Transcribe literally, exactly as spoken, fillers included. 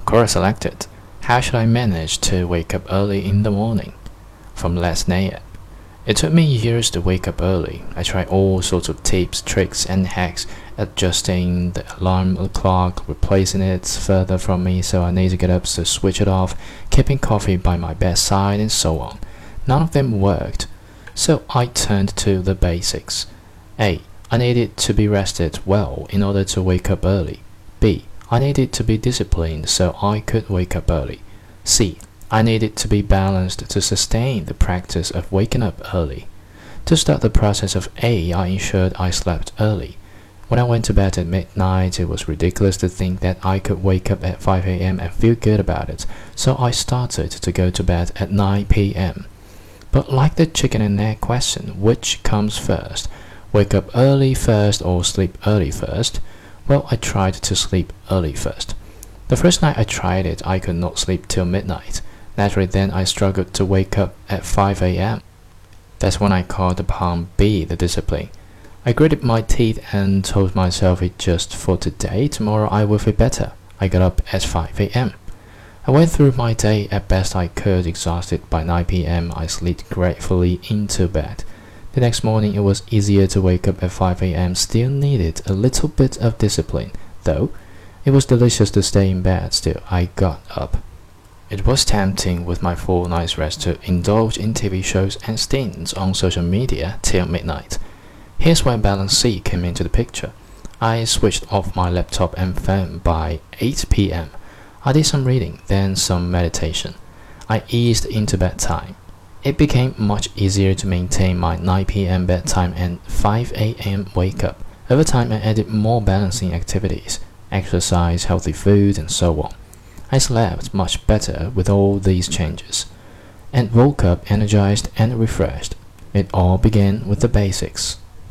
Quora selected. How should I manage to wake up early in the morning? From Les Nayat. It took me years to wake up early. I tried all sorts of tips, tricks, and hacks, adjusting the alarm clock, replacing it further from me so I need to get up to switch it off, keeping coffee by my bedside, and so on. None of them worked. So I turned to the basics. A. I needed to be rested well in order to wake up early. B. I needed to be disciplined so I could wake up early. C. I needed to be balanced to sustain the practice of waking up early. To start the process of A, I ensured I slept early. When I went to bed at midnight, it was ridiculous to think that I could wake up at five a m and feel good about it, so I started to go to bed at nine p m But like the chicken and egg question, which comes first? Wake up early first or sleep early first? Well, I tried to sleep early first. The first night I tried it, I could not sleep till midnight. Naturally, then I struggled to wake up at five a m That's when I called upon B, the discipline. I gritted my teeth and told myself it just for today, tomorrow I will feel better. I got up at five a m I went through my day as best I could, exhausted. By nine p m I slipped gratefully into bed. The next morning it was easier to wake up at five a m Still needed a little bit of discipline, though. It was delicious to stay in bed, still I got up. It was tempting with my full night's rest to indulge in T V shows and stints on social media till midnight. Here's where balance C came into the picture. I switched off my laptop and phone by eight p m I did some reading, then some meditation. I eased into bedtime. It became much easier to maintain my nine p m bedtime and five a m wake up. Over time I added more balancing activities, exercise, healthy food, and so on. I slept much better with all these changes, and woke up energized and refreshed. It all began with the basics.